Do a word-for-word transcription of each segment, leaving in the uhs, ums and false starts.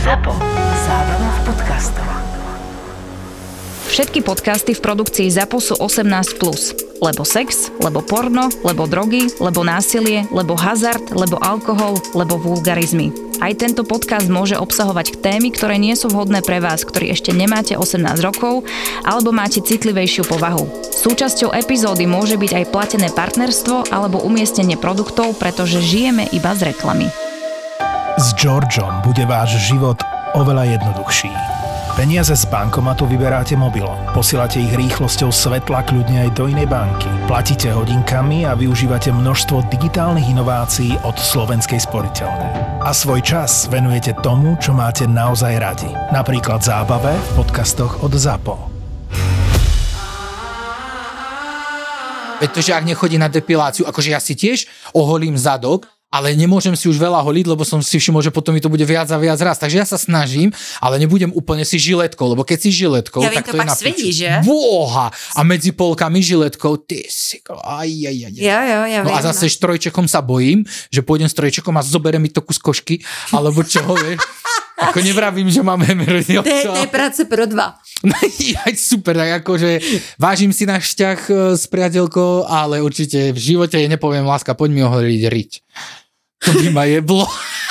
Zapo. Zábrná v podcastov. Všetky podcasty v produkcii Zapo sú osemnásť plus. Lebo sex, lebo porno, lebo drogy, lebo násilie, lebo hazard, lebo alkohol, lebo vulgarizmy. Aj tento podcast môže obsahovať témy, ktoré nie sú vhodné pre vás, ktorí ešte nemáte osemnásť rokov alebo máte citlivejšiu povahu. Súčasťou epizódy môže byť aj platené partnerstvo alebo umiestnenie produktov, pretože žijeme iba z reklamy. S Georgeom bude váš život oveľa jednoduchší. Peniaze z bankomatu vyberáte mobilom, posielate ich rýchlosťou svetla kľudne aj do inej banky, platíte hodinkami a využívate množstvo digitálnych inovácií od Slovenskej sporiteľne. A svoj čas venujete tomu, čo máte naozaj radi. Napríklad zábave v podcastoch od Zapo. Veď to, že ak nechodí na depiláciu, akože ja si tiež oholím zadok, ale nemôžem si už veľa holiť, lebo som si všimol, že potom mi to bude viac a viac raz. Takže ja sa snažím, ale nebudem úplne si žiletkou, lebo keď si žiletkou, ja tak to, to je pak na svedí, že? Boha! A medzi polkami žiletkou, ty si... Aj, aj, aj, aj. Jo, jo, ja no viem. a zase s trojčekom sa bojím, že pôjdem s trojčekom a zoberiem mi to kus košky, alebo čoho, vieš. Ako nevravím, že mám hemeroidy. To je, to je práce pro dva. Aj super, tak akože vážim si náš vzťah s priateľkou, ale určite v živote jej nepoviem, láska, poď mi oholiť riť. To by ma jeblo.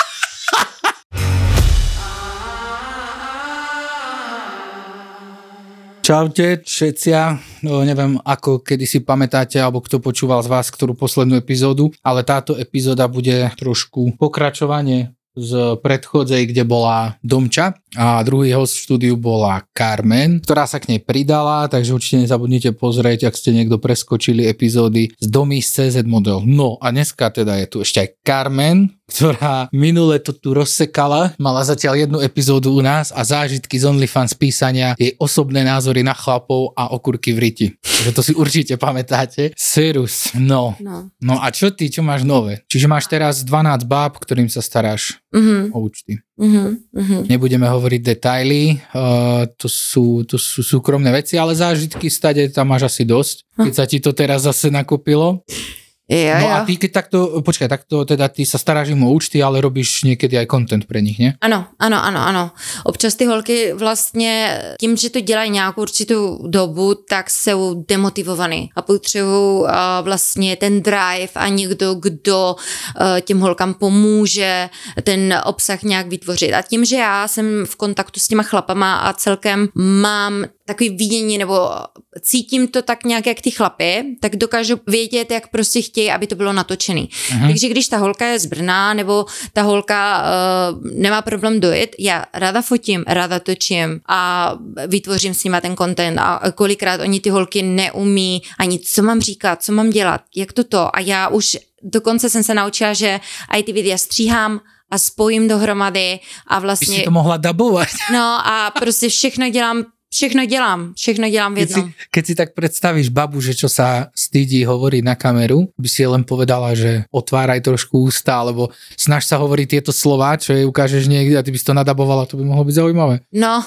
Čaute všetci, no, neviem ako kedy si pamätáte, alebo kto počúval z vás ktorú poslednú epizódu, ale táto epizóda bude trošku pokračovanie z predchodzej, kde bola Domča a druhý host v štúdiu bola Carmen, ktorá sa k nej pridala, takže určite nezabudnite pozrieť, ak ste niekto preskočili epizódy z Domy z cé zet Model. No a dneska teda je tu ešte aj Carmen, ktorá minule to tu rozsekala, mala zatiaľ jednu epizódu u nás a zážitky z OnlyFans písania, jej osobné názory na chlapov a okurky v riti. Takže to si určite pamätáte. Serus, no. no. No a čo ty, čo máš nové? Čiže máš teraz dvanásť báb, ktorým sa staráš mm-hmm. o účty. Mm-hmm. Mm-hmm. Nebudeme hovoriť detaily, uh, to, sú, to sú súkromné veci, ale zážitky stade tam máš asi dosť, keď sa ti to teraz zase nakopilo. Ja, no ja. a ty keď takto, počkaj, takto teda ty sa staráš im o účty, ale robíš niekedy aj content pre nich, ne? Ano, ano, ano, ano. Občas ty holky vlastně tím, že to dělají nějakou určitou dobu, tak jsou demotivovaný a potřebují uh, vlastně ten drive a někdo, kdo uh, těm holkám pomůže ten obsah nějak vytvořit. A tím, že já jsem v kontaktu s těma chlapama a celkem mám takový vidění, nebo cítím to tak nějak jak ty chlapy, tak dokážu vědět, jak prostě chtějí, aby to bylo natočený. Uh-huh. Takže když ta holka je z Brna, nebo ta holka uh, nemá problém dojet, já ráda fotím, ráda točím a vytvořím s nima ten content a kolikrát oni ty holky neumí ani co mám říkat, co mám dělat, jak toto a já už dokonce jsem se naučila, že aj ty videa stříhám a spojím dohromady a vlastně... By si to mohla dabovať. No a prostě všechno dělám Všechno dělám, všechno dělám v jednom. Keď si, keď si tak predstavíš babu, že čo sa stydí hovoriť na kameru, by si len povedala, že otváraj trošku ústa, alebo snaž sa hovoriť tieto slová, čo jej ukážeš niekde a ty by si to nadabovala, to by mohlo byť zaujímavé. No,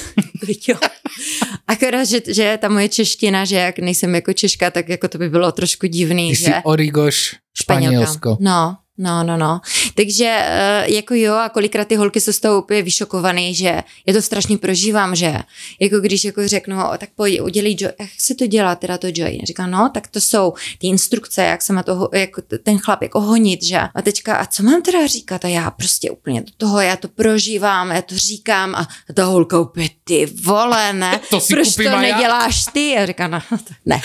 jo. Akorát, že, že ta moje čeština, že jak nejsem jako Češka, tak jako to by bylo trošku divný. Ty že? si Origoš Španělsko. No. No, no, no. Takže jako jo a kolikrát ty holky jsou z toho úplně vyšokovaný, že já to strašně prožívám, že jako když jako řeknu, tak pojď, udělej joy, jak se to dělá teda to joy? Říká, no, tak to jsou ty instrukce, jak se má toho, jako ten chlap jako honit, že? A teďka, a co mám teda říkat? A já prostě úplně do toho, já to prožívám, já to říkám a ta holka úplně, ty vole, ne? To si proč to neděláš ty? A říká, no, ne.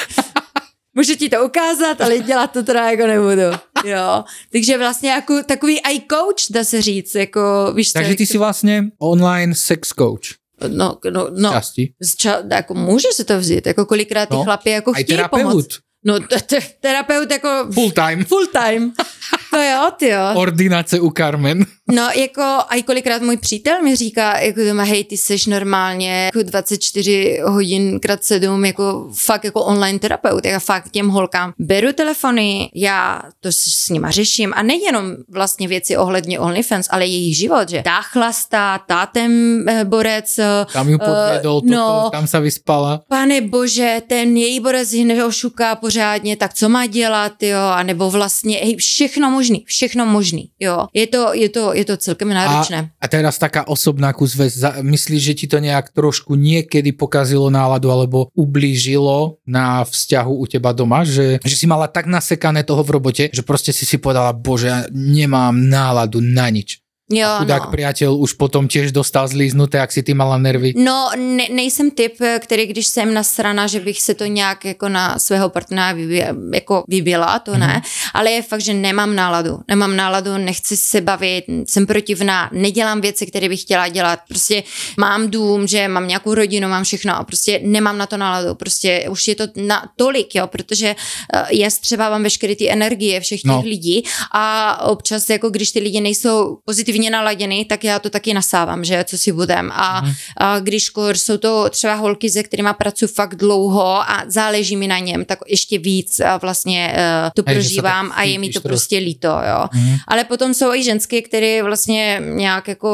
Můžu ti to ukázat, ale dělat to teda jako nebudu. Jo. Takže vlastně jako takový i coach, dá se říct. Jako, víš, takže ty si vlastně online sex coach. No, no, no. Časti. Ča, jako může se to vzít. Jako kolikrát ty no, chlapi jako chtějí pomoct. No, t- t- terapeut jako... Full time. Full time. To jo, ty jo. Ordinace u Carmen. No, jako, a i kolikrát můj přítel mi říká, jako doma, hej, ty seš normálně jako dvacet čtyři hodin krát sedm, jako fakt jako online terapeut, já fakt těm holkám beru telefony, já to s nima řeším a nejenom vlastně věci ohledně OnlyFans, ale jejich život, že tá chlastá, tá ten borec. Tam ju podvedol, uh, no, toto, tam sa vyspala. Pane bože, ten její borec ji neošuká pořádně, tak co má dělat, jo, a nebo vlastně, hej, všechno možný, všechno možný, jo. Je to, je to, je to celkem náročné. A, a teraz taká osobná kus vec, myslíš, že ti to nejak trošku niekedy pokazilo náladu alebo ublížilo na vzťahu u teba doma, že, že si mala tak nasekané toho v robote, že proste si si povedala, bože, ja nemám náladu na nič. Jo, a chudák no. priateľ už potom tiež dostal zlíznuté, jak si ty mala nervy. No, ne, nejsem typ, který když jsem nasrana, že bych se to nějak jako na svého partnera vybě, jako vyběla, to ne, mm-hmm. ale je fakt, že nemám náladu. Nemám náladu, nechci se bavit, jsem protivná, nedělám věci, které bych chtěla dělat. Prostě mám dům, že mám nějakou rodinu, mám všechno a prostě nemám na to náladu. Prostě už je to na tolik, jo, protože já střebávám veškeré ty energie všech těch no. lidí a občas, jako když ty lidi nejsou pozitivní naladěný, tak já to taky nasávám, že co si budem. A, mm. a když jsou to třeba holky, se kterýma pracuji fakt dlouho a záleží mi na něm, tak ještě víc a vlastně uh, to Hej, prožívám a je mi to trošku. prostě líto, jo. Mm. Ale potom jsou i ženské, které vlastně nějak jako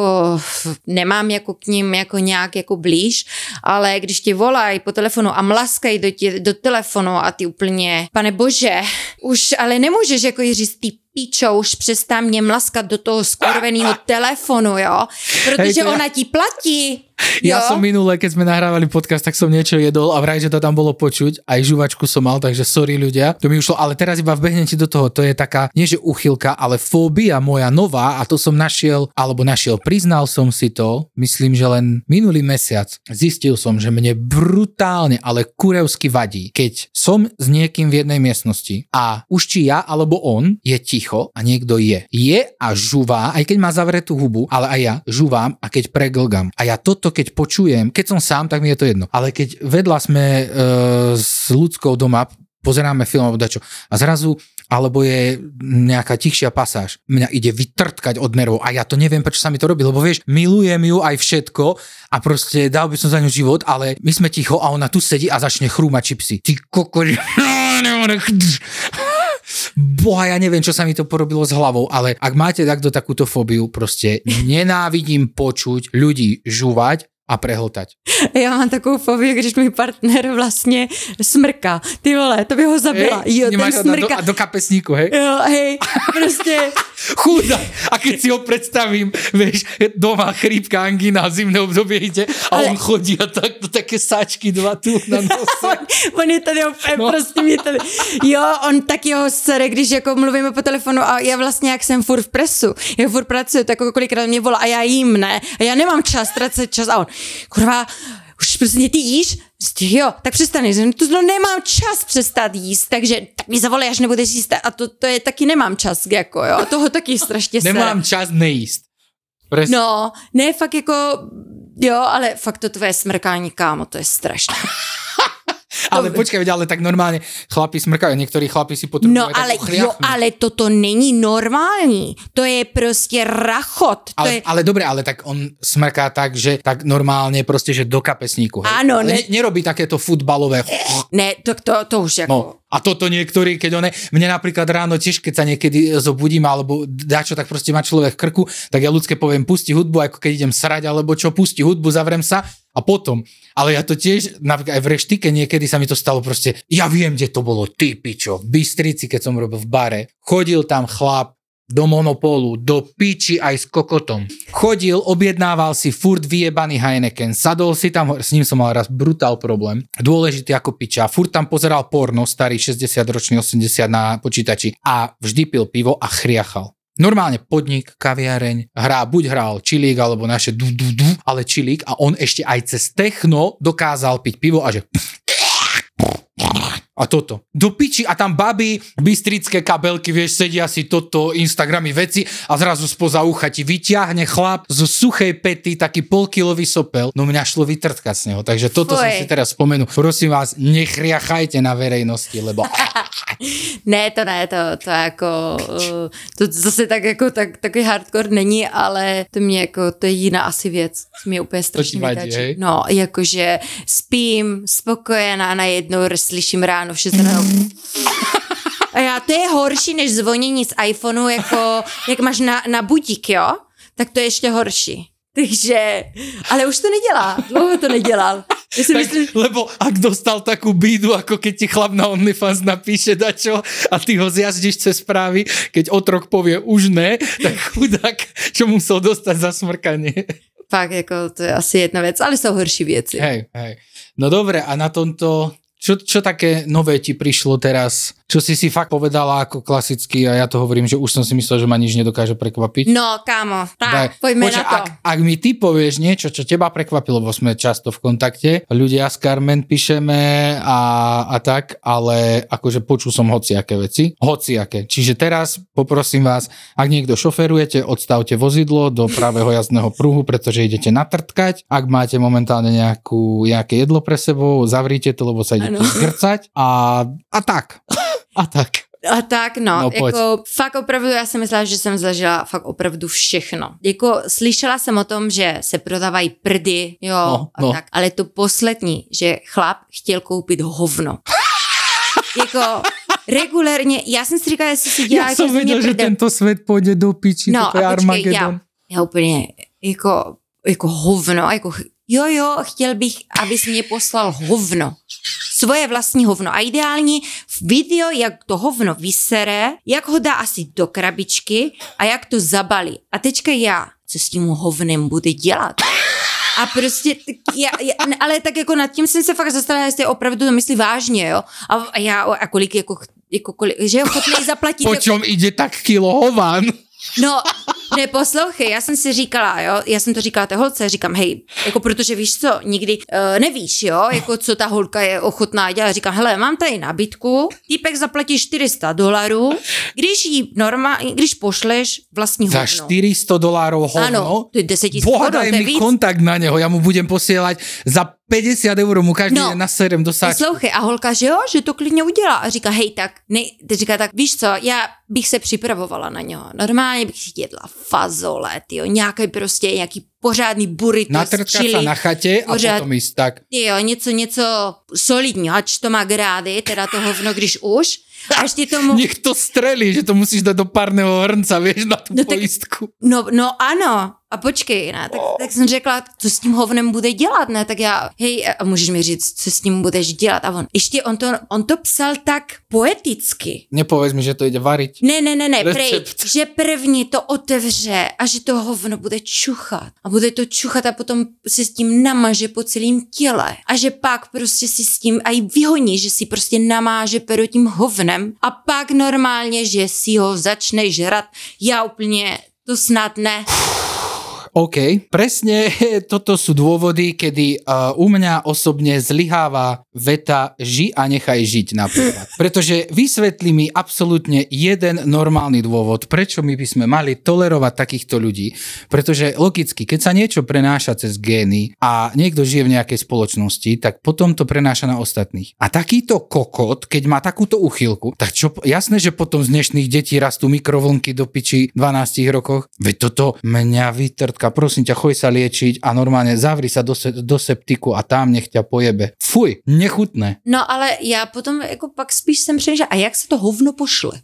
nemám jako k ním jako nějak jako blíž, ale když ti volají po telefonu a mlaskají do, tě, do telefonu a ty úplně, pane bože, už ale nemůžeš jako jí říct ty píčo, už přestám mě mlaskat do toho skurveného telefonu, jo, protože Hej, ona ti platí. Ja jo? som minule, keď sme nahrávali podcast, tak som niečo jedol a vraj, že to tam bolo počuť. Aj žuvačku som mal, takže sorry ľudia. To mi ušlo, ale teraz iba vbehnem ti do toho. To je taká, nie že uchylka, ale fóbia moja nová a to som našiel, alebo našiel, priznal som si to, myslím, že len minulý mesiac zistil som, že mne brutálne, ale kurevsky vadí, keď som s niekým v jednej miestnosti a už či ja alebo on je ticho a niekto je. Je a žuvá, aj keď má zavretú hubu, ale aj ja žuvám a keď preglgam. A ja toto to keď počujem, keď som sám, tak mi je to jedno. Ale keď vedľa sme e, s ľudskou doma, pozeráme film alebo dačo a zrazu, alebo je nejaká tichšia pasáž, mňa ide vytrtkať od nervov a ja to neviem, prečo sa mi to robí, lebo vieš, milujem ju aj všetko a proste dal by som za ňu život, ale my sme ticho a ona tu sedí a začne chrúmať čipsy. Ty kokori... Boha, ja neviem, čo sa mi to porobilo s hlavou, ale ak máte takto takúto fóbiu, proste nenávidím počuť ľudí žúvať a prehltať. Já mám takovou fobii, když můj partner vlastně smrká. Ty vole, to by ho zabila. Hej, jo, ten smrká. A do, do kapesníku, hej? Jo, hej, prostě... Chúda. A keď si ho predstavím, vieš, doma chrípka, angína, zimné obdobie ide a ale... on chodí a takto také sáčky dva tu na nose. on, on je tady opět, no. Prostě mě tady... Jo, on taky ho sere, když jako mluvíme po telefonu a já vlastně, jak jsem furt v presu, já furt pracuji, tak jako kolikrát mě volá a já jím, ne? A já nemám čas, ztracet čas a on, kurva, už prostě ty jíš? Jo, tak přestaneš, to no, nemám čas přestat jíst, takže tak mi zavolej, až nebudeš jíst a to, to je taky nemám čas, jako jo, toho taky strašně sere. Nemám čas nejíst. Presne. No, ne, fakt jako, jo, ale fakt to tvoje smrkání, kámo, to je strašné. Ale počkaj, ale tak normálne chlapi smrkajú, niektorí chlapi si potrebujú no, ale, jo, ale toto není normální. To je prostě rachot. To ale, je... ale dobre, ale tak on smrká tak, že tak normálne proste, že do kapesníku. Hej? Áno, ale ne... ne, nerobí takéto futbalové... Ne, to, to, to už jako... No. A toto niektorí, keď one, mne napríklad ráno tiež, keď sa niekedy zobudím, alebo dačo, tak proste má človek v krku, tak ja ľudské poviem, pusti hudbu, ako keď idem srať, alebo čo, pusti hudbu, zavrem sa a potom. Ale ja to tiež, napríklad aj v reštike niekedy sa mi to stalo proste, ja viem, kde to bolo, ty pičo, v Bystrici, keď som robil v bare, chodil tam chlap do Monopolu, do piči aj s kokotom. Chodil, objednával si furt vyjebaný Heineken, sadol si tam, s ním som mal raz brutál problém, dôležitý ako piča, furt tam pozeral porno, starý šesťdesiatročný, osemdesiat na počítači a vždy pil pivo a chriachal. Normálne podnik, kaviareň, hrá, buď hral čilík, alebo naše du, du, du, ale čilík a on ešte aj cez techno dokázal piť pivo a že... A toto. Do piči a tam baby, bystrické kabelky, vieš, sedia si toto, Instagramy veci a zrazu spoza ucha ti vyťahne chlap zo suchej pety taký polkilový sopel. No mňa šlo vytrtkať z neho, takže toto Fuj. Som si teraz spomenul. Prosím vás, nechriachajte na verejnosti, lebo... Ne, to ne, to, to jako, to zase tak jako tak, takový hardcore není, ale to mě jako, to je jiná asi věc, co mě úplně strašně vytáčí. No, jakože spím, spokojená, najednou slyším ráno v šest ráno. A já, to je horší, než zvonění z iPhoneu, jako, jak máš na, na budík, jo? Tak to je ještě horší. Takže, ale už to nedělá, dlouho to nedělal. Ja si Tak, myslím, lebo ak dostal takú bídu, ako keď ti chlap na OnlyFans napíše dačo a ty ho zjazdíš cez správy, keď otrok povie už ne, tak chudák, čo musel dostať za smrkanie. fakt, jako to je asi jedna věc, ale jsou horší věci. Hej, hej. No dobre, a na tomto, čo, čo také nové ti prišlo teraz? Čo si si fakt povedala ako klasicky a ja to hovorím, že už som si myslel, že ma nič nedokáže prekvapiť. No, kámo, tak, Daj, pojďme počkaj, na to. Ak, ak mi ty povieš niečo, čo teba prekvapilo, bo sme často v kontakte, ľudia s Carmen píšeme a, a tak, ale akože počul som hociaké veci. Hociaké. Čiže teraz poprosím vás, ak niekto šoferujete, odstavte vozidlo do pravého jazdného pruhu, pretože idete natrtkať. Ak máte momentálne nejakú, nejaké jedlo pre sebou, zavrite to, lebo sa idete zgrcať a, a tak. A tak. A tak, no, No, pojď. jako fakt opravdu, já jsem myslela, že jsem zažila fakt opravdu všechno. Jako slyšela jsem o tom, že se prodávají prdy, jo, No, a no. tak, ale to poslední, že chlap chtěl koupit hovno. Jako regulérně, já jsem si říkala, jestli si dělá, Ja jako som ze mě vedel, že prdel. tento svet pôjde do piči, No toto je a počkej, Armagedon. já, já úplně, jako, jako hovno, jako, jo, jo, chtěl bych, abys mě poslal hovno. Svoje vlastní hovno. A ideální video, jak to hovno vysere, jak ho dá asi do krabičky a jak to zabalí. A teďka já, co s tím hovnem bude dělat? A prostě, tak já, já, ale tak jako nad tím jsem se fakt zastavila, jestli opravdu to myslí vážně, jo. A, a já, a kolik, jako, jako kolik, že je ochotnej zaplatit. Po čom ide tak kilo hovan? No, neposlouchej, já jsem si říkala, jo, já jsem to říkala té holce, říkám, hej, jako protože víš co, nikdy uh, nevíš, jo, jako co ta holka je ochotná dělat. Říkám, hele, mám tady nabídku, týpek zaplatí čtyři sta dolarů, když jí normálně, když pošleš vlastní Za hovno. štyri sto dolárov hovno? Ano, to je deset tisíc Boha, korun, daj to je mi víc. kontakt na neho, ja mu budem posielať za päťdesiat eur, mu každý No. deň naserem do sáčku. Poslouchej, a holka, že jo, že to klidně udělá. A říká, hej, tak, ne, teď říká, tak víš co, já bych se připravovala na něho. Normálně bych si jedla fazole, tyjo, nějaký prostě, nějaký pořádný burrito s Natrtkať sa chili. na chate a Pořád- potom ísť tak. Jo, něco, něco solidního, ač to má grády, teda to hovno, když už. A ještě tomu, Nech to strelí, že to musíš dať do párneho hrnca, vieš, na tú No tak- poistku. no, no ano, a počkej, ne, tak, tak jsem řekla, co s tím hovnem bude dělat, ne, tak já, hej, a můžeš mi říct, co s tím budeš dělat, a on, ještě on to, on to psal tak poeticky. Nepovedz mi, že to ide variť. Ne, ne, ne, ne, prej, Recept. že první to otevře a že to hovno bude čuchat. A bude to čuchat a potom se s tím namaže po celém těle. A že pak prostě si s tím aj vyhoní, že si prostě namáže pero tím hovnem a pak normálně, že si ho začne žrat. Já úplně, to snad ne. OK, presne toto sú dôvody, kedy uh, u mňa osobne zlyháva veta ži a nechaj žiť napríklad. Pretože vysvetlí mi absolútne jeden normálny dôvod, prečo my by sme mali tolerovať takýchto ľudí. Pretože logicky, keď sa niečo prenáša cez gény a niekto žije v nejakej spoločnosti, tak potom to prenáša na ostatných. A takýto kokot, keď má takúto uchylku, tak čo, jasné, že potom z dnešných detí rastú mikrovlnky do piči v dvanástich rokoch. Veď toto mňa vytrtka, prosím ťa, choj sa liečiť a normálne zavri sa do, se, do septiku a tam nech ťa pojebe. Fuj, nechutné. No ale já potom jako pak spíš jsem přemýšlela, a jak se to hovno pošle?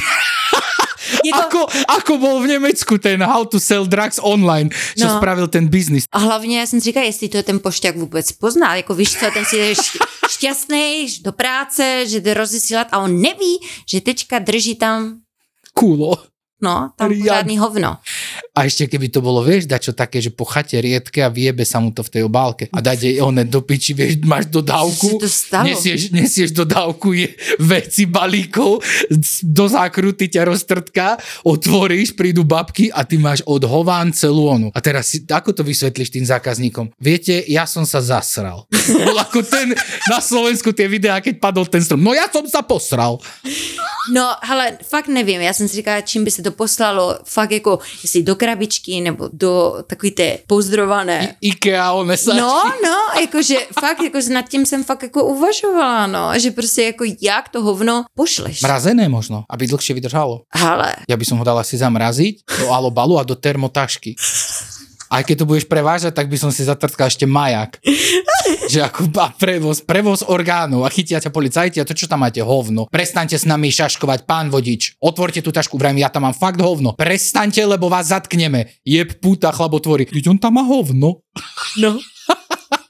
Jako, Ako, ako bol v Nemecku ten How to Sell Drugs Online, čo No. spravil ten biznis. a hlavně já jsem si říkala, jestli to ten pošťák vůbec pozná, jako víš co, ten si je šť- šťastný do práce, že jde rozesílat a on neví, že teďka drží tam, Kúlo. no, tam Riad. pořádný hovno. A ešte keby to bolo, vieš, dačo také, že po chate riedke a vyjebe sa mu to v tej obálke. A dať jej one do piči, vieš, máš dodávku, Čo sa to stalo? nesieš, nesieš dodávku je, veci balíkov, do zákruty ťa roztrtká, otvoríš, prídu babky a ty máš od hován celú onu. A teraz si, ako to vysvetlíš tým zákazníkom? Viete, ja som sa zasral. Bol ako ten na Slovensku tie videá, keď padol ten strom. No ja som sa posral. No, hele, fakt nevím, já jsem si říkala, čím by se to poslalo, fakt jako, jestli do krabičky, nebo do takový té pouzdrované. IKEA, one sa... No, no, jakože fakt, jako nad tím jsem fakt jako uvažovala, no, že prostě jako jak to hovno pošleš. Mrazené možno, aby dlhšie vydržalo. Hele, Ja by som ho dal asi zamraziť do alobalu a do termotašky. Aj keď to budeš prevážať, tak by som si zatrtkal ešte majak. Že ako a prevoz, prevoz orgánov a chytia ťa policajti a to čo tam máte? Hovno. Prestaňte s nami šaškovať, pán vodič. Otvorte tú tašku, vrajím, ja tam mám fakt hovno. Prestaňte, lebo vás zatkneme. Jeb puta chlabotvory. Keď on tam má hovno. no.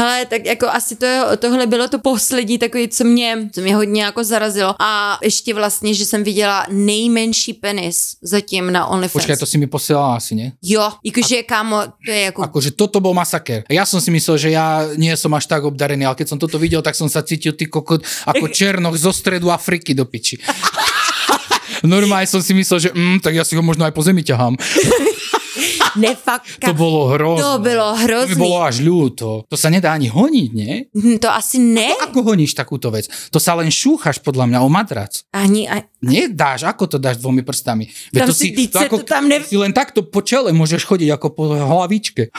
Hele, tak jako asi to, tohle bylo to poslední takový, co mě, co mě hodně jako zarazilo. A ještě vlastně, že jsem viděla nejmenší penis zatím na OnlyFans. Počkaj, to si mi posielala asi, nie? Jo, jakože kámo, to je jako... Akože toto bol masaker. Ja som si myslel, že ja nie som až tak obdarený, ale keď som toto videl, tak som sa cítil ty kokot ako černoch zo stredu Afriky do piči. Normálne som si myslel, že mm, tak ja si ho možno aj po zemi ťahám. Ne, fakt. To bolo hrozné. To bylo hrozný. To by bolo až ľúto. To sa nedá ani honiť, nie? To asi ne. Ako, ako honíš takúto vec? To sa len šúchaš podľa mňa o madrac. Ani, ani... Nedáš, ako to dáš dvomi prstami? Veď Tam to si, si, to ako, to tam ne... si len takto po čele môžeš chodiť ako po hlavičke.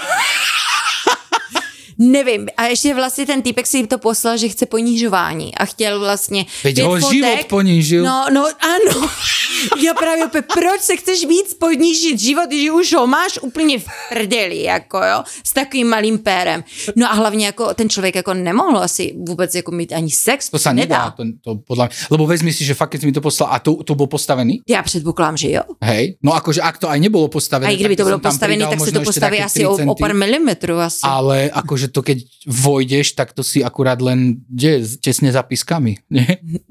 Nevím. A ještě vlastně ten týpek si to poslal, že chce ponížování a chtěl vlastně... Veď ho fotek. Život ponížil. No, no, ano. Já právě opět, proč se chceš víc ponížit život, když už ho máš úplně v prdeli, jako jo, s takovým malým pérem. No a hlavně jako ten člověk jako nemohl asi vůbec jako mít ani sex. To sa nedá, to, to podľa mňa. Lebo vezmi si, že fakt, keď si mi to poslal, a to, to bol postavený? Já předpokládám, že jo. Hej, no akože ak to aj nebolo postavené. A i kdyby to bylo postavené, tak se to postaví asi o, o pár milimetrů asi. Ale akože to keď vojdeš, tak to si akurát len kde, tesne za pískami, nie?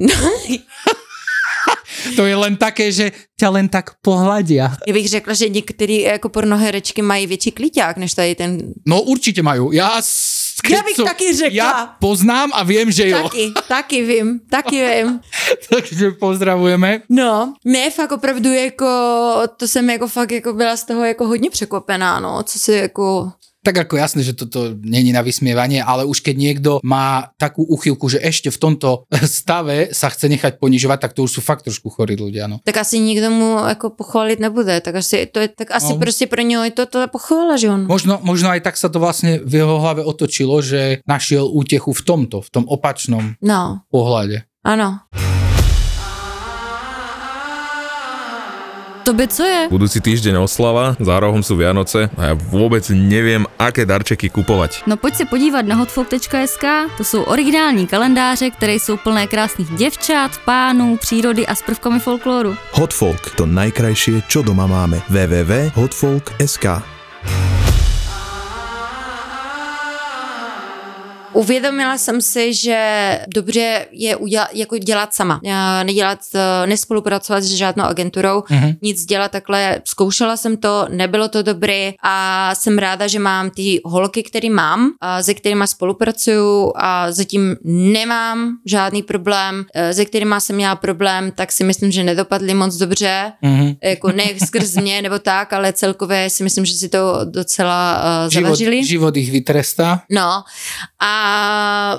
To je len také, že ťa len tak pohľadia. Já bych řekla, že některé jako pornoherečky mají větší kliťák, než tady ten... No určitě majú. Ja, Já bych som, taky řekla. Ja poznám a viem, že jo. Taky, taky vím, taky vím. Takže pozdravujeme. No, ne, fakt opravdu jako, to jsem jako fakt jako byla z toho jako hodně překvapená, no, co si jako... Tak ako jasné, že toto není na vysmievanie, ale už keď niekto má takú uchylku, že ešte v tomto stave sa chce nechať ponižovať, tak to už sú fakt trošku chorí ľudia, no. Tak asi nikto mu jako pochválit nebude, tak asi, to je, tak asi no. Prostě pro něho je to, to pochvála, že on. Možno, možno aj tak sa to vlastne v jeho hlave otočilo, že našiel útechu v tomto, v tom opačnom no. pohľade. Ano. Tobě co je? Budúci týždeň oslava, za rohom sú Vianoce a ja vôbec neviem, aké darčeky kupovať. No pojď se podívat na hotfolk tečka es ká, to jsou originální kalendáře, které jsou plné krásných děvčat, pánů, přírody a s prvkami folklóru. Hotfolk, to najkrajšie, čo doma máme. w w w tečka hotfolk tečka es ká. Uvědomila jsem si, že dobře je udělat, jako dělat sama. Nedělat, nespolupracovat s žádnou agenturou, mm-hmm. nic dělat takhle. Zkoušela jsem to, nebylo to dobré a jsem ráda, že mám ty holky, které mám, a se kterými spolupracuju a zatím nemám žádný problém. Se kterými jsem měla problém, tak si myslím, že nedopadly moc dobře. Mm-hmm. Jako ne skrz mě nebo tak, ale celkově si myslím, že si to docela uh, zavařili. Život, život ich vytrestá. No a A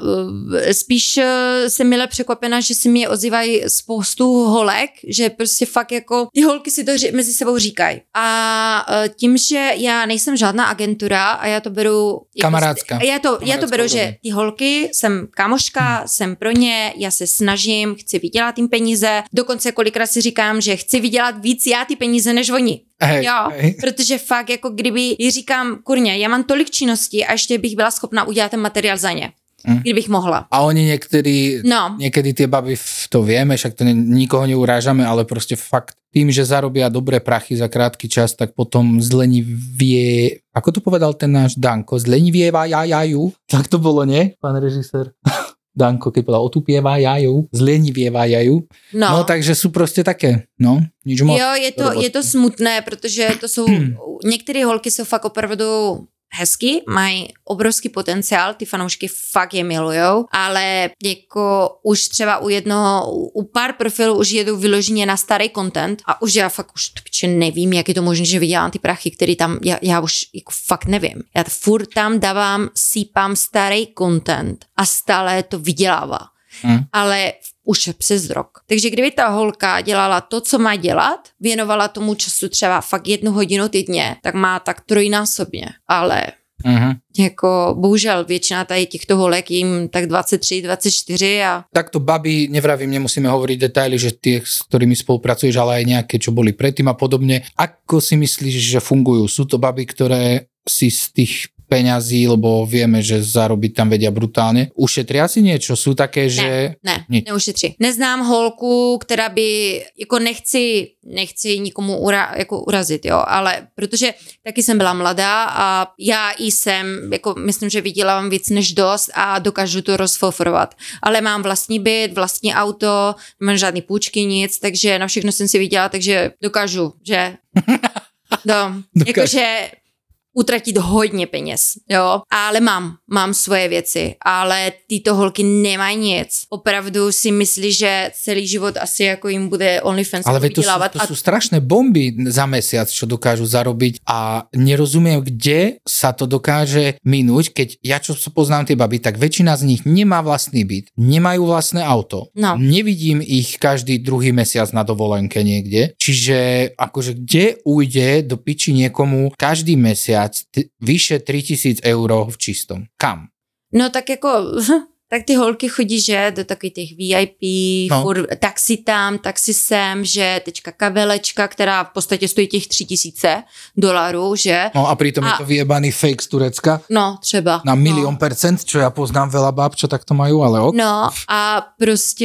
spíš jsem mile překvapena, že si mi ozývají spoustu holek, že prostě fakt jako ty holky si to mezi sebou říkají. A tím, že já nejsem žádná agentura a já to beru... Kamarádska. Já to, já to beru, že ty holky, jsem kamoška, hmm. jsem pro ně, já se snažím, chci vydělat jim peníze, dokonce kolikrát si říkám, že chci vydělat víc já ty peníze než oni. Hej, jo, hej. Protože fakt jako kdyby jí říkám, kurně, já mám tolik činností a ještě bych byla schopna udělat ten materiál za ně. Mm. Kdybych mohla. A oni niekedy, no. niekedy tie baby, to vieme, však to ne, nikoho neurážame, ale proste fakt tým, že zarobia dobré prachy za krátky čas, tak potom zlenivie, ako to povedal ten náš Danko, zlenivievajú. Tak to bolo, nie, pán režisér? Danko, keď povedal, otupievajú, zlenivievajú. No. no, takže sú proste také, no, nič moc. Jo, je to, je to smutné, protože to jsou, některé holky jsou fakt opravdu hezky, mají obrovský potenciál, ty fanoušky fakt je milujou, ale jako už třeba u jednoho, u pár profilů už jedou vyloženě na starý content a už já fakt už topče nevím, jak je to možné, že vydělám ty prachy, který tam, já, já už jako fakt nevím. Já furt tam dávám, sípám starý content a stále to vydělává. Hmm. Ale už přes rok. Takže kdyby ta holka dělala to, co má dělat, věnovala tomu času třeba fakt jednu hodinu týdně, tak má tak trojnásobně. Ale uh-huh. jako bohužel většina tady těchto holek jim tak dvacet tři, dvacet čtyři a... Takto babi, nevravím, nemusíme hovoriť detaily, že tie, s ktorými spolupracuješ, ale aj nejaké, čo boli predtým a podobne. Ako si myslíš, že fungujú? Sú to baby, ktoré si z tých peňazí, lebo vieme, že zarobiť tam vedia brutálne. Ušetria si niečo? Sú také, že... Ne, Nič. neušetří. Neznám holku, která by, jako nechci, nechci nikomu ura, jako urazit, jo, ale protože taky jsem byla mladá a já i jsem, jako myslím, že vydělávám víc než dost a dokážu to rozfofrovat. Ale mám vlastní byt, vlastní auto, nemám žádný půjčky, nic, takže na všechno jsem si vydělala, takže dokážu, že... No, jakože utratit hodně peněz, jo, ale mám, mám svoje věci, ale tyto holky nemají nic. Opravdu si myslí, že celý život asi jako jim bude OnlyFans ale vydělávat. Ale to sú, to sú strašné bomby za mesiac, čo dokážu zarobiť a nerozumiem, kde sa to dokáže minúť, keď ja čo poznám tie baby, tak väčšina z nich nemá vlastný byt, nemajú vlastné auto, no. Nevidím ich každý druhý mesiac na dovolenke niekde, čiže akože kde ujde do piči niekomu každý mesiac T- vyše tři tisíce euro v čistom. Kam? No tak jako, tak ty holky chodí, že do takových těch V I P, no. furt, taxi tam, taxi sem, že tečka kabelečka, která v podstatě stojí těch tři tisíce dolarů, že? No a pritom a... je to vyjebaný fake z Turecka. No, třeba. Na milión no. percent, čo ja poznám veľa báb, čo takto majú, ale ok. No a prostě,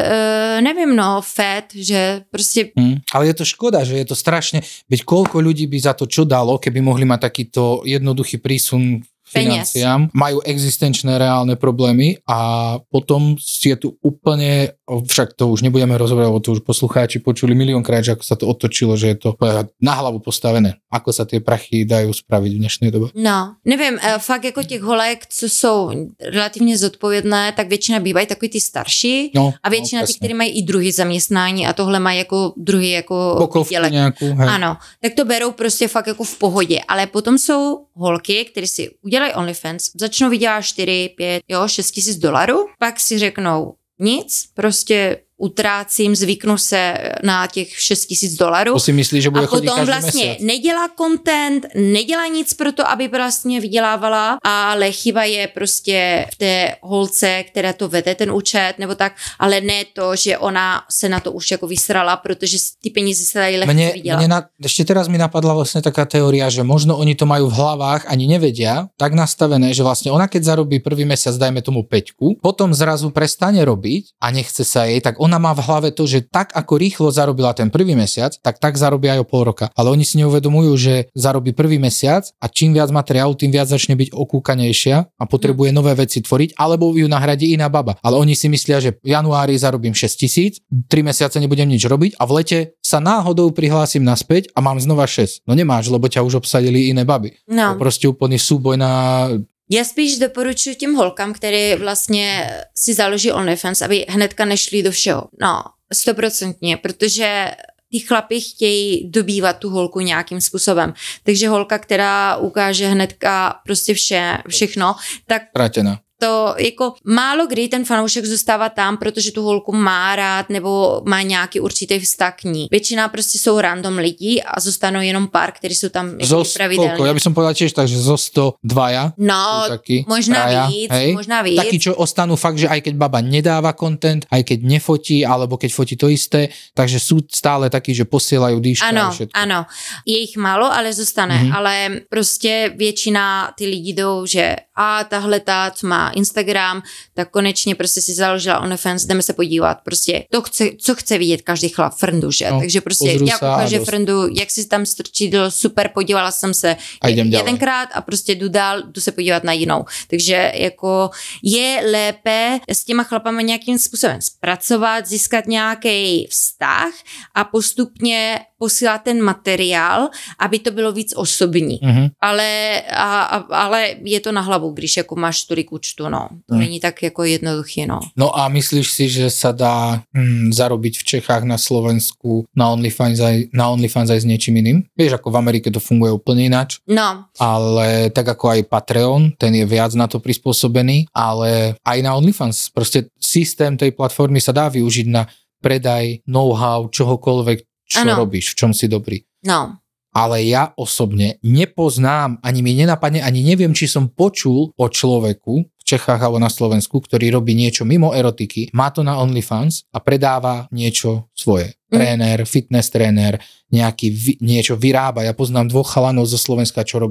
e, nevím, no, fed, že prostě... Hmm. Ale je to škoda, že je to strašne, veď koľko ľudí by za to čo dalo, keby mohli mať takýto jednoduchý prísun financiám, majú existenčné reálne problémy a potom je tu úplne, však to už nebudeme rozoberať, lebo to už poslucháči počuli miliónkrát, že ako sa to otočilo, že je to na hlavu postavené. Ako sa tie prachy dajú spraviť v dnešnej dobe? No, nevím, fakt jako těch holek, co jsou relativně zodpovědné, tak většina bývají takový ty starší no, a většina no, těch, kteří mají i druhý zaměstnání a tohle mají jako druhý jako pokovku nějakou, hej. Ano, tak to berou prostě fakt jako v pohodě, ale potom jsou holky, které si udělají OnlyFans, začnou vydělat čtyři, pět, jo, šest tisíc dolarů, pak si řeknou nic, prostě utrácím, zvyknu se na těch šest tisíc dolarů. To si myslí, že bude chodit každý vlastně mesiac. A potom vlastně nedělá content, nedělá nic pro to, aby vlastně vydělávala, ale chyba je prostě v té holce, která to vede ten účet, nebo tak, ale ne to, že ona se na to už jako vysrala, protože ty peníze se dají lehce mne, vydělat. Mne na, ešte teraz mi napadla vlastne taká teória, že možno oni to majú v hlavách, ani nevedia, tak nastavené, že vlastne ona keď zarobí prvý mesiac, dajme tomu päťku, potom zrazu prestane robiť a nechce sa jej, tak ona má v hlave to, že tak ako rýchlo zarobila ten prvý mesiac, tak tak zarobí aj o pol roka. Ale oni si neuvedomujú, že zarobí prvý mesiac a čím viac materiálu, tým viac začne byť okúkanejšia a potrebuje nové veci tvoriť, alebo ju nahradí iná baba. Ale oni si myslia, že v januári zarobím šesť tisíc, tri mesiace nebudem nič robiť a v lete sa náhodou prihlásim naspäť a mám znova šesť. No nemáš, lebo ťa už obsadili iné baby. No. To prostě úplný súboj na... Já spíš doporučuji těm holkám, které vlastně si založí OnlyFans, aby hnedka nešli do všeho. No, stoprocentně, protože ty chlapi chtějí dobývat tu holku nějakým způsobem. Takže holka, která ukáže hnedka prostě vše, všechno, tak... Pratená. To jako málo kdy ten fanoušek zůstává tam, protože tu holku má rád nebo má nějaký určitý vztah k ní. Většina prostě jsou random lidí a zůstanou jenom pár, kteří jsou tam zo pravidelně. Koľko? Ja by som povedal tiež tak, že zo sto dvaja. No, taký, možná traja, víc, hej? možná víc. Takí, čo ostanú fakt, že aj keď baba nedáva content, aj keď nefotí, alebo keď fotí to isté, takže sú stále takí, že posielajú dýška ano, a všetko. Ano, je jich málo, ale zůstane, mm-hmm. ale prostě většina ty lidi jdou, že a tahle ta, co má Instagram, tak konečně prostě si založila OnlyFans, jdeme se podívat, prostě to chce, co chce vidět každý chlap, frndu, že? No, takže prostě já koukám, že frndu, jak si tam strčidlo, super, podívala jsem se jedenkrát a prostě jdu dál, jdu se podívat na jinou. Takže jako je lépe s těma chlapama nějakým způsobem zpracovat, získat nějaký vztah a postupně posílat ten materiál, aby to bylo víc osobní. Mm-hmm. Ale, a, a, ale je to na hlavu, když jako máš tolik účtu, no. To mm. není tak jako jednoduchý, no. No a myslíš si, že sa dá hm, zarobiť v Čechách, na Slovensku, na OnlyFans aj, na OnlyFans aj s niečím iným? Vieš, ako v Amerike to funguje úplne ináč. No. Ale tak ako aj Patreon, ten je viac na to prispôsobený, ale aj na OnlyFans. Proste systém tej platformy sa dá využiť na predaj, know-how, čohokoľvek, čo ano. Robíš, v čom si dobrý. No. Ale ja osobne nepoznám, ani mi nenapadne, ani neviem, či som počul o človeku v Čechách alebo na Slovensku, ktorý robí niečo mimo erotiky, má to na OnlyFans a predáva niečo svoje. Mm. Tréner, fitness tréner, nejaký, niečo vyrába. Ja poznám dvoch chalanov zo Slovenska, čo robia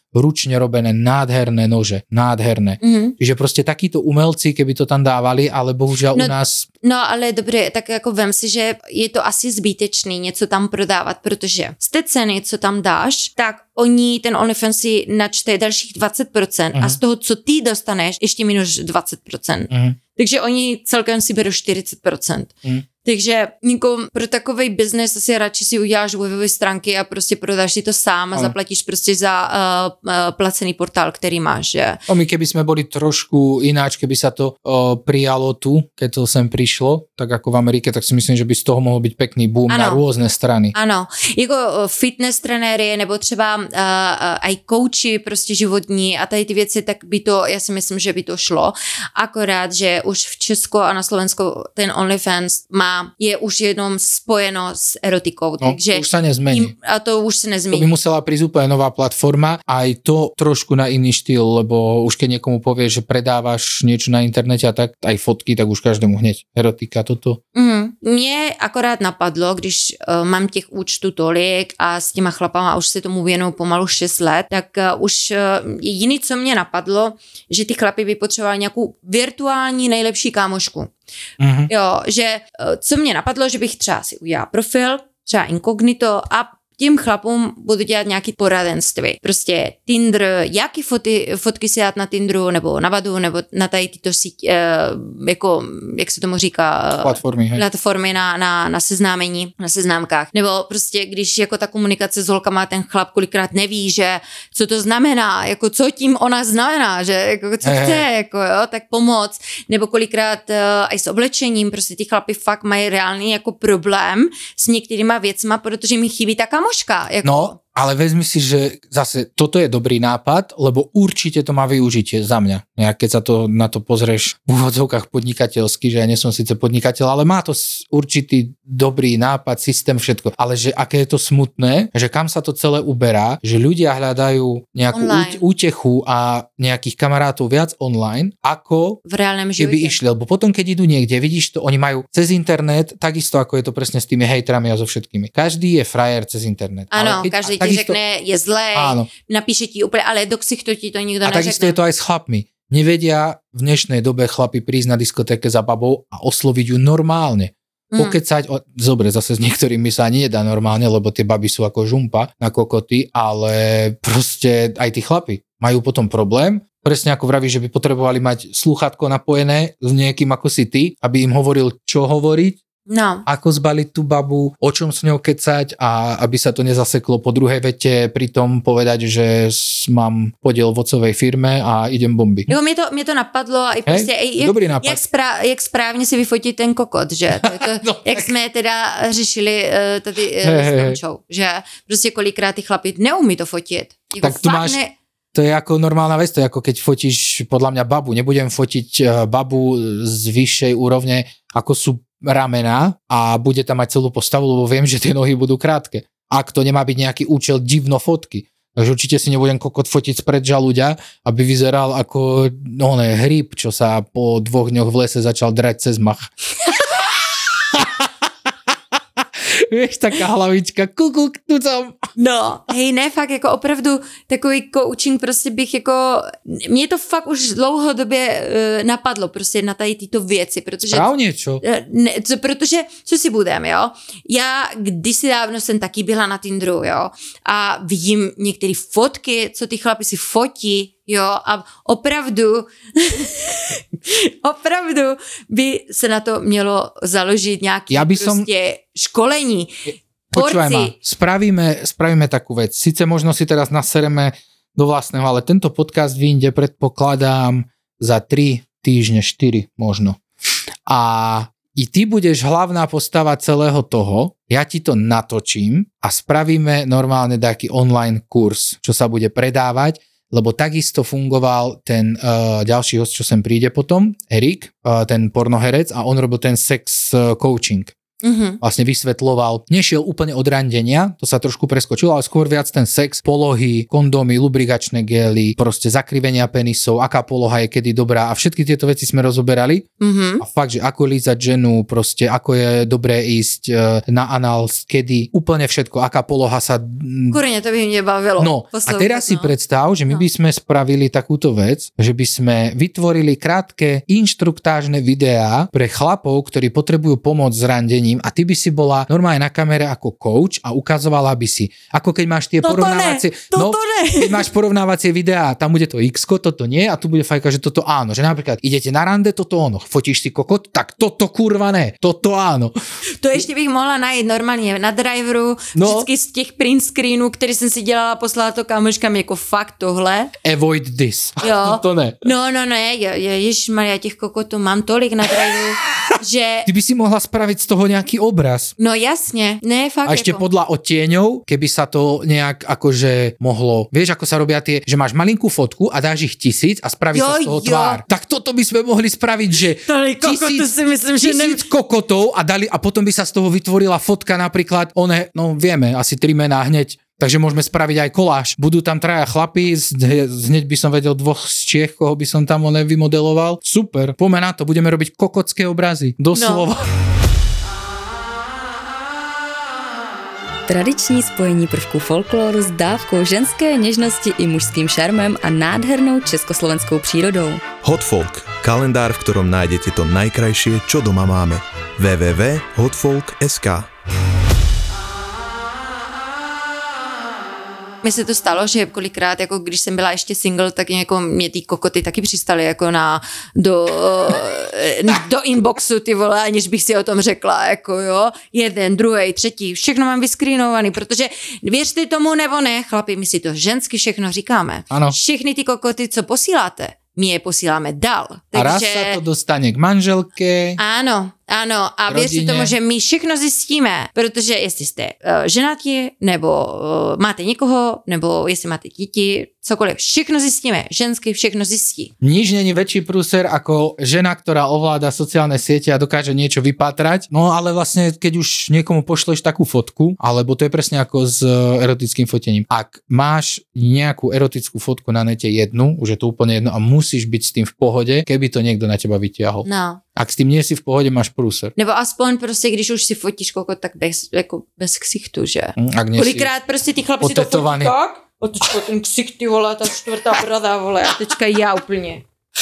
ručne robené nádherné nože, nádherné. Mm-hmm. Čiže proste takíto umelci, keby to tam dávali, ale bohužel no, u nás... No ale dobře, tak jako vem si, že je to asi zbytečný něco tam prodávat, protože z té ceny, co tam dáš, tak oni ten OnlyFans si načte dalších dvacet procent mm-hmm. a z toho, co ty dostaneš, ještě minus dvacet procent. Mm-hmm. Takže oni celkem si berou čtyřicet procent. Mm. Takže jako pro takovej biznes asi radši si uděláš webové stránky a prostě prodáš si to sám a ano. zaplatíš prostě za uh, uh, placený portál, který máš. Že? O my keby sme boli trošku ináč, keby sa to uh, prijalo tu, keď to sem prišlo, tak ako v Amerike, tak si myslím, že by z toho mohol byť pekný boom ano. na rôzne strany. Ano, jako fitness trenéry nebo třeba uh, uh, aj kouči prostě životní a tady ty věci, tak by to, já si myslím, že by to šlo. Akorát, že už v Česku a na Slovensku ten OnlyFans má je už jenom spojeno s erotikou. No, takže už sa nezmení. Tým, a to už sa nezmení. To by musela prísť úplne nová platforma, aj to trošku na iný štýl, lebo už keď niekomu povie, že predávaš niečo na internete a tak, aj fotky, tak už každému hneď erotika, toto. Mm, mě akorát napadlo, když uh, mám těch účtů tolik a s těma chlapama už se tomu věnuju pomalu šest let, tak uh, už uh, jediný, co mě napadlo, že ty chlapi by potřebovali nějakou virtuální nejlepší kámošku. Mm-hmm. Jo, že co mě napadlo, že bych třeba si udělala profil, třeba inkognito a tím chlapům budu dělat nějaký poradenství. Prostě Tinder, jaký foty, fotky si dát na Tinderu, nebo na Badu, nebo na tady tyto síť, eh, jako, jak se tomu říká, platformy, hej. platformy na, na, na seznámení, na seznámkách. Nebo prostě, když jako ta komunikace s holkama, ten chlap kolikrát neví, že co to znamená, jako co tím ona znamená, že jako co hey, chce, jako jo, tak pomoc. Nebo kolikrát uh, i s oblečením, prostě ty chlapi fakt mají reálný jako problém s některýma věcma, protože mi chybí ta kamoška. Jako. No, ale vezmi si, že zase toto je dobrý nápad, lebo určite to má využitie za mňa. Nejak keď sa to na to pozrieš v úvodzovkách podnikateľsky, že ja nie som síce podnikateľ, ale má to určitý dobrý nápad, systém, všetko. Ale že aké je to smutné, že kam sa to celé uberá, že ľudia hľadajú nejakú online. útechu a nejakých kamarátov viac online, ako v reálnom živote. Keby išli. Lebo potom, keď idú niekde, vidíš to, oni majú cez internet, takisto ako je to presne s tými hejtrami a so všetkými. Každý je frajer cez internet. Áno, každý ti takisto, řekne, je zlej, áno. napíše ti úplne, ale do ksichtu ti to nikto a neřekne. A takisto je to aj s chlapmi. Nevedia v dnešnej dobe chlapi prísť na diskotéke za babou a osloviť ju normálne. Mm. Pokecať, o, zobre, zase s niektorými sa ani nedá normálne, lebo tie baby sú ako žumpa na kokoty, ale proste aj tí chlapi majú potom problém. Presne ako vravíš, že by potrebovali mať slúchatko napojené s niekým ako si ty, aby im hovoril, čo hovoriť, no. ako zbaliť tú babu, o čom s ňou kecať a aby sa to nezaseklo po druhej vete, pritom povedať, že mám podiel v ocovej firme a idem bomby. Jo, mě to, mě to napadlo a i prostě, hey, jak, dobrý nápad. Jak, správ, jak správně si vyfotit ten kokot, že? To, to, no, jak jsme teda řešili uh, tady uh, hey, s Tomčou, hey. Že prostě kolikrát ty chlapi neumí to fotit. Jako tak tu máš... Ne... To je ako normálna vec, to je ako keď fotíš podľa mňa babu. Nebudem fotiť babu z vyššej úrovne, ako sú ramená a bude tam mať celú postavu, lebo viem, že tie nohy budú krátke. Ak to nemá byť nejaký účel divno fotky. Takže určite si nebudem kokot fotiť spred žaluďa, aby vyzeral ako no ne, hríb, čo sa po dvoch dňoch v lese začal drať cez mach. Víš, taká hlavička, kukuk, tu som. No, hej, ne, fakt, jako opravdu takový coaching prostě bych jako, mě to fakt už dlouhodobě uh, napadlo prostě na tady tyto věci, protože... Správně, čo? Ne, co, protože, co si budem, jo, já kdysi dávno jsem taky byla na Tinderu, jo, a vidím některé fotky, co ty chlapi si fotí, jo, a opravdu, opravdu by se na to mělo založit nějaký ja by prostě som... školení. Počúvaj ma, spravíme, spravíme takú vec. Sice možno si teraz nasereme do vlastného, ale tento podcast vyjde, predpokladám, za tri týždne, štyri možno. A i ty budeš hlavná postava celého toho, ja ti to natočím a spravíme normálne taký online kurz, čo sa bude predávať, lebo takisto fungoval ten uh, ďalší host, čo sem príde potom, Erik, uh, ten pornoherec, a on robil ten sex uh, coaching. Mhm. vlastne vysvetloval. Nešiel úplne od randenia, to sa trošku preskočilo, ale skôr viac ten sex, polohy, kondómy, lubrigačné gély, proste zakrivenia penisov, aká poloha je kedy dobrá a všetky tieto veci sme rozoberali. Mhm. A fakt, že ako lízať ženu, proste ako je dobré ísť e, na anál, kedy, úplne všetko, aká poloha sa... Kurne, to by mne bavilo. No, a teraz si no. predstav, že my No. by sme spravili takúto vec, že by sme vytvorili krátke inštruktážne videá pre chlapov, ktorí potrebujú pomoc s randením a ty by si bola normálne na kamere ako coach a ukazovala by si, ako keď máš tie Toto porovnávacie... ne, toto no, ne. keď máš porovnávacie videá, tam bude to X-ko, toto nie a tu bude fajka, že toto áno. Že napríklad idete na rande, toto ono. Fotíš si kokot, tak toto kurva ne, toto áno. To ještě bych mohla najít normálně na driveru, No. vždycky z těch print screenů, který jsem si dělala, poslala to kamoškám jako fakt tohle. Avoid this. Jo. To ne. No, no, ne, je, je, ježišmarja, těch kokotů mám tolik na driveru, že... Ty by si mohla spraviť z toho nejaký obraz. No jasně, ne, fakt A ešte jako... podľa odtieňov, keby sa to nejak akože mohlo, vieš, ako sa robia tie, že máš malinkú fotku a dáš ich tisíc a spraví Jo, sa z toho jo. tvár. Tak toto by sme mohli spraviť, že Tolik kokotů si myslím, že ne... tisíc kokotov a dali a potom by sa z toho vytvorila fotka napríklad, one, no vieme, asi tri mená hneď. Takže môžeme spraviť aj koláž. Budú tam traja chlapí, z- hneď by som vedel dvoch z Čiech, koho by som tam one vymodeloval. Super, poďme na to, budeme robiť kokotské obrazy. Doslova. No. Tradiční spojení prvků folkloru s dávkou ženské něžnosti i mužským šarmem a nádhernou československou přírodou. Hot Folk, kalendár, v ktorom nájdete to najkrajšie, čo doma máme. w w w bodka hotfolk bodka es ká. Mně se to stalo, že kolikrát, jako když jsem byla ještě single, tak jako mě ty kokoty taky přistaly jako na, do, do inboxu, ty vole, aniž bych si o tom řekla, jako jo, jeden, druhý, třetí, všechno mám vyskrínovaný, protože věřte tomu nebo ne, chlapi, my si to žensky všechno říkáme. Ano. Všechny ty kokoty, co posíláte, my je posíláme dál. A raz sa to dostane k manželke. Ano, ano, a věřte Rodině. tomu, že my všechno zjistíme, protože jestli jste uh, ženatí, nebo uh, máte někoho, nebo jestli máte děti, cokoliv, všechno zjistíme, žensky všechno zjistí. Nič není väčší prúser ako žena, ktorá ovláda sociálne siete a dokáže niečo vypátrať. No ale vlastne, keď už niekomu pošleš takú fotku, alebo to je presne ako s erotickým fotením. Ak máš nejakú erotickú fotku na nete jednu, už je to úplne jedno a musíš byť s tým v pohode, keby to niekto na teba vytiahol. No. Ak s tým nie si v pohode, máš prúser. Nebo aspoň prostě, když už si fotíš kokot, tak bez, jako bez ksichtu, že? Ak nie si Kolikrát prostě ty chlapi si to fotí potetovaný. tak, a teďka ten ksicht, ty vole, ta čtvrtá brada, vole, a teďka já úplně.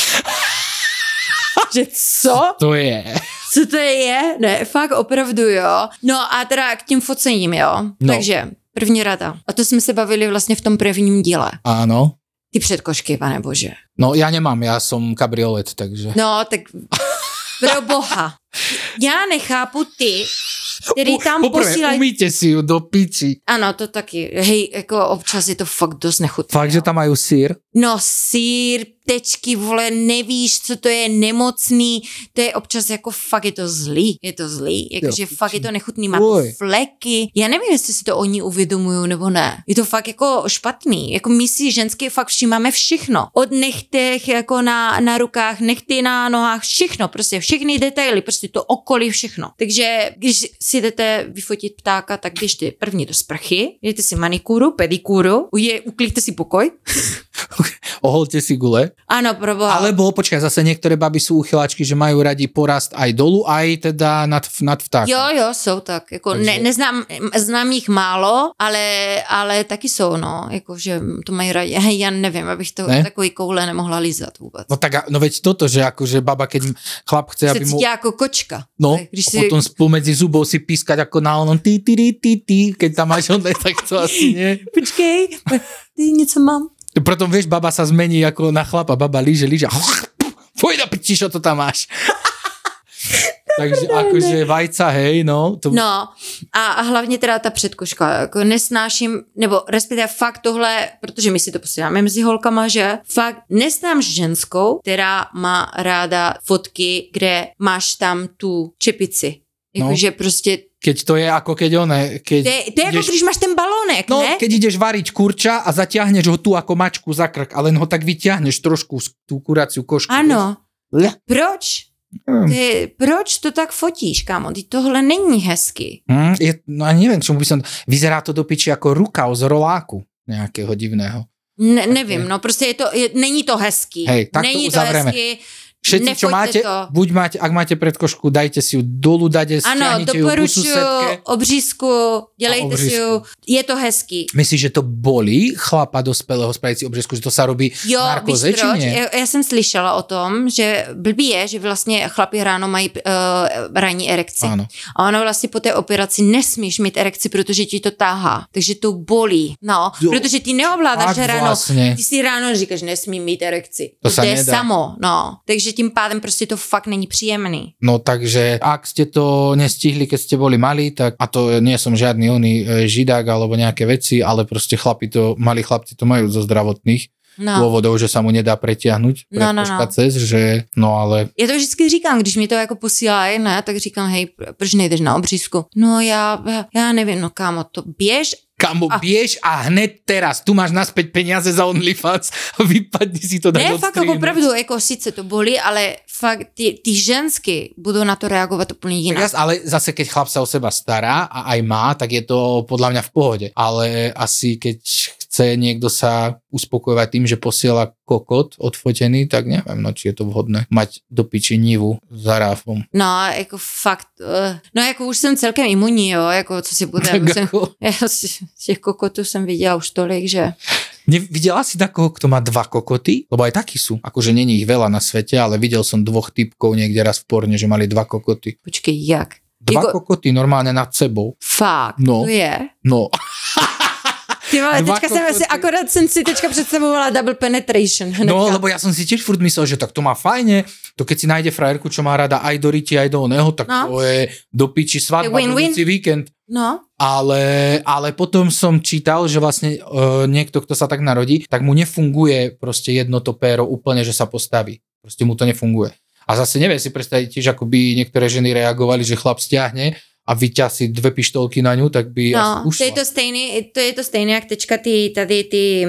Že co? To je. Co to je? Ne, fakt opravdu, jo. No a teda k tím focením, jo. No. Takže první rada. A to jsme se bavili vlastně v tom prvním díle. Áno. Ty předkošky, pane bože. No ja nemám, ja som kabriolet, takže... No, tak pro boha. Já nechápu ty, který tam Poprvé, posílají... umýte si ju do piči. Ano, to taky. Hej, jako občas je to fakt dost nechutné. Fakt, že tam majú sír? No sír, tečky, vole, nevíš, co to je, nemocný, to je občas jako fakt je to zlý, je to zlý, jakože Jo, fakt je to nechutný, má to Uj. fleky, já nevím, jestli si to oni uvědomují nebo ne, je to fakt jako špatný, jako my si ženské fakt všímáme všechno, od nechtech jako na, na rukách, nechty na nohách, všechno, prostě všechny detaily, prostě to okolí, všechno, takže když si jdete vyfotit ptáka, tak běžte první do sprchy, jdete si manikúru, pedikúru, uje, uklíte si pokoj. Oholte si gule. Áno, proboha. Alebo, počkaj, zase niektoré baby sú uchyláčky, že majú radi porast aj dolu, aj teda nad, nad vtákom. Jo, jo, jsou tak. Jako Takže- ne, neznám, znám jich málo, ale, ale taky jsou, no. Jako, že to mají rádi. Hej, já nevím, abych to Ne? takový koule nemohla lízat vůbec. No tak, a- no veď toto, že akože baba, keď chlap chce, Se aby mu... cítí jako kočka. No, Když a si... potom spomedzi zubov si pískať ako na onom ty, ty, ty, ty, ty, keď tam máš onde, tak to asi nie. Počkej, ty něco mám. Potom vieš, baba sa zmení ako na chlapa, baba líže, líže. Fuj do piči, čo to tam máš. Takže akože vajca, hej, no. To... No a, a hlavně teda ta předkoška, jako nesnáším, nebo respektive fakt tohle, protože my si to posíláme mezi holkama, že fakt nesnám ženskou, která má ráda fotky, kde máš tam tu čepici. Jakože no. prostě... Keď to je ako keď one... Keď To je, to je ideš... jako když máš ten balónek, no, ne? keď ideš variť kurča a zatiahneš ho tu ako mačku za krk, ale len ho tak vyťahneš trošku tú kuraciu košku. Ano. Vieš? Proč? Hmm. Ty, proč to tak fotíš, kámo? Ty tohle není hezky. Hmm, je, no a neviem, čomu by som... Vyzerá to do piči ako rukav z roláku nejakého divného. Ne, nevím, no prostě je to, je, není to hezký. Hej, tak není to uzavřeme. To hezky. Všetci, čo máte, to. buď máte, ak máte predkošku, dajte si ju dolu, dajte, ano, stiahnite ju ku doporučuju susedke. obřízku, dělejte obřízku. si ju, je to hezký. Myslíš, že to bolí chlapa dospelého spraviť si obřízku, že to sa robí Jo, narkoze, víš či proč? nie? Já, já jsem slyšela o tom, že blbý je, že vlastně chlapi ráno mají uh, ranní erekci. Áno. A ono vlastně po té operaci nesmíš mít erekci, protože ti to táhá. Takže to bolí. No, Jo, protože ty neovládáš, fakt že ráno, vlastně. ty si ráno říkáš, nesmím mít erekci. To To, sa to je nedá. samo, no. Takže tím pádem prostě to fakt není příjemný. No takže, ak ste to nestihli, keď ste boli malí, tak, a to nie som žiadny oný e, židák alebo nejaké veci, ale proste chlapi to, malí chlapci to majú zo zdravotných No. dôvodov, že sa mu nedá pretiahnuť No, no, no. cez, že no ale... Já to vždycky říkám, když mi to jako posílají, ne, tak říkám, hej, proč nejdeš na obřízku? No já, já, já nevím, no kámo, to běž. Kamo, A- biež a hned teraz, tu máš naspäť peniaze za OnlyFans a vypadni si to dať Ne, od fakt jako opravdu, jako sice to bolí, ale fakt ty, ty žensky budou na to reagovat úplně jinak. Jas, ale zase, keď chlap sa o seba stará a aj má, tak je to podľa mňa v pohode. Ale asi keď chce niekto sa uspokojovať tým, že posiela kokot odfotený, tak neviem, no, či je to vhodné mať do piči nivu za ráfom. No, jako fakt, uh, no jako už jsem celkem imunní, jo, jako co si bude, už jsem, já z těch kokotů jsem viděla už tolik, že... Nevidela si takoho, kto má dva kokoty? Lebo aj takí sú. Akože není ich veľa na svete, ale videl som dvoch typkov niekde raz v porne, že mali dva kokoty. Počkej, jak? Dva Jako- kokoty normálne nad sebou. Fakt, No. to je? No. Ty vole, Dva teďka jsem kokoty. si, akorát jsem si teďka představovala double penetration. Hnedka. No, lebo ja som si tiež furt myslel, že tak to má fajne, to keď si nájde frajerku, čo má rada aj do riti, aj do oného, tak No. to je do piči svadba, Je win-win. budúci víkend. No, Ale, ale potom som čítal, že vlastne uh, niekto, kto sa tak narodí, tak mu nefunguje proste jedno to péro úplne, že sa postaví. Proste mu to nefunguje. A zase neviem si predstaviť tiež, ako by niektoré ženy reagovali, že chlap stiahne a vyťasí dve pištolky na ňu, tak by asi no, ušla. to je to stejný, to je to stejné, jak teďka ty, tady ty,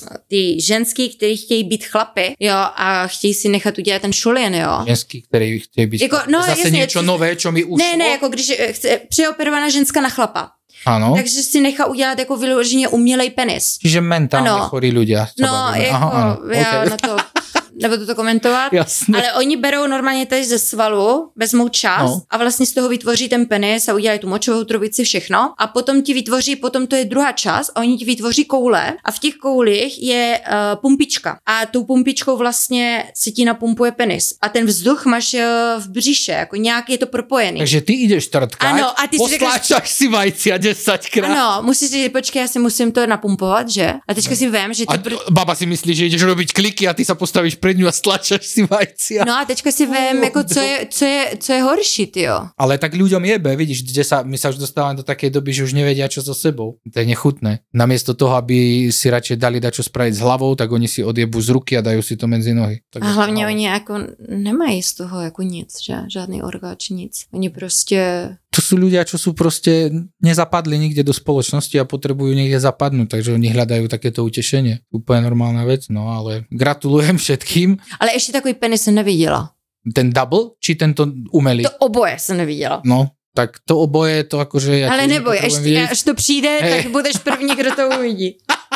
ty ženský, kteří chtějí být chlapy, jo, a chtějí si nechat udělat ten šulien, jo. Ženský, ktorý chce byť Jako, no, zase jasně, niečo co- nové, čo mi ušlo. Ne, ne, jako když eh, chce přeoperovaná ženská na chlapa, Áno. takže si nechá udělat jako vyloženě umělej penis. Čiže mentálne Ano. chorí ľudia. sa No, bavíme. jako, Aha, áno. já Okay. na to nebudu to komentovat. Jasné. Ale oni berou normálně tady ze svalu, vezmou čas No. a vlastně z toho vytvoří ten penis a udělají tu močovou trubici, všechno. A potom ti vytvoří, potom to je druhá část a oni ti vytvoří koule a v těch koulích je uh, pumpička. A tou pumpičkou vlastně si ti napumpuje penis. A ten vzduch máš uh, v břiše, jako nějak je to propojený. Takže ty ideš trtkať, Ano, a ty si postláčaš si vajcia desaťkrát. Ano, musíš si, počkej, já si musím to napumpovat, že? A teďka si vím, že A ty... Pr- baba si myslí, že ideš robiť kliky a ty sa postavíš pred ňu a stlačaš si vajcia. no a teďka si vím, jako co je, co je, co je horší, tyjo. Ale tak ľuďom jebe, vidíš, kde sa, my sa už dostávame do takej doby, že už nevedia, čo so sebou. To je nechutné. Namiesto toho, aby si radšej dali dať čo spraviť s hlavou, tak oni si odjebu z ruky a dajú si to medzi nohy. Tak A hlavně oni jako nemají z toho jako nic, že? Žádný orgáč, nic. Oni prostě... To sú ľudia, čo sú proste nezapadli nikde do spoločnosti a potrebujú niekde zapadnúť, takže oni hľadajú takéto utešenie. Úplne normálna vec, no ale gratulujem všetkým. Ale ještě takový penis jsem neviděla. Ten double, či tento umelý? To oboje jsem neviděla. No, tak to oboje, to akože... Ja Ale tiež neboj, nepotrebujem až, vidieť. až to přijde, Hej. tak budeš první, kdo to uvidí.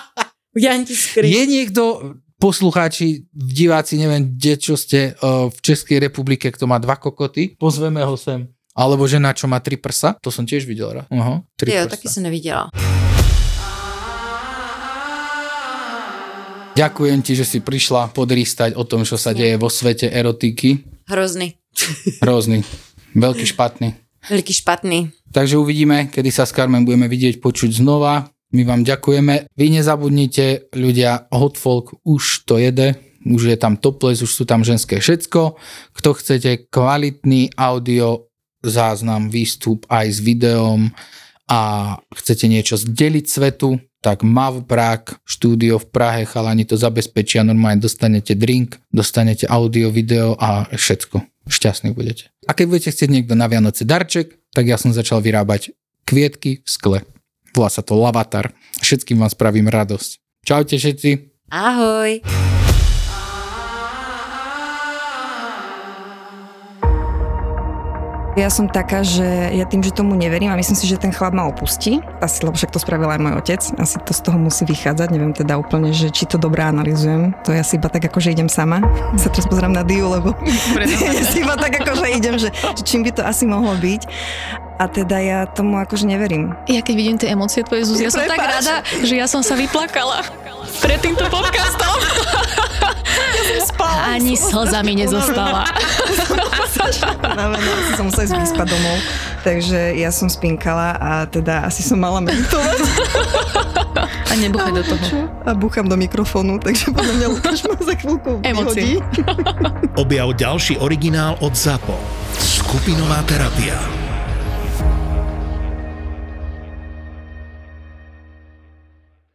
Udělám ti skryt. Je niekto, poslucháči, diváci, neviem, kde čo ste uh, v Českej republike, kto má dva kokoty, pozveme ho sem. Alebo žena, čo má tri prsa, to som tiež videl. Ra. Aha, tri Jo, prsa. taky jsem neviděla. Ďakujem ti, že si prišla podrýstať o tom, čo sa deje vo svete erotiky. Hrozný. Hrozný. Veľký špatný. Veliký špatný. Takže uvidíme, kedy sa s Carmen budeme vidieť, počuť znova. My vám ďakujeme. Vy nezabudnite, ľudia, Hot Folk už to jede. Už je tam topless, už sú tam ženské všetko. Kto chcete kvalitný audio záznam, výstup aj s videom a chcete niečo zdeliť svetu, tak Mav Prague, štúdio v Prahe, chalani to zabezpečia, normálne dostanete drink, dostanete audio, video a všetko. Šťastní budete. A keď budete chcieť niekto na Vianoce darček, tak ja som začal vyrábať kvietky v skle. Volá sa to Lavatar. Všetkým vám spravím radosť. Čaute všetci. Ahoj. Ja som taká, že ja tým, že tomu neverím a myslím si, že ten chlap ma opustí. Asi, lebo však to spravil aj môj otec. Asi to z toho musí vychádzať. Neviem teda úplne, že či to dobre analyzujem. To ja si iba tak ako, že idem sama. Sa teraz pozerám na Diu, lebo ja si iba tak ako, že idem, že, že čím by to asi mohlo byť. A teda ja tomu akože neverím. Ja keď vidím tie emócie tvoje, Zuzi, ja som tak rada, že ja som sa vyplakala pred týmto podcastom. Ja som spala. Ani slza mi nezostala. Asi som musela ísť vyspať domov. Takže ja som spinkala a teda asi som mala meditovať. A nebuchaj do toho. A búcham do mikrofónu, takže podľa mňa Lukáš ma za chvíľku vyhodí. Objav ďalší originál od ZAPO. Skupinová terapia.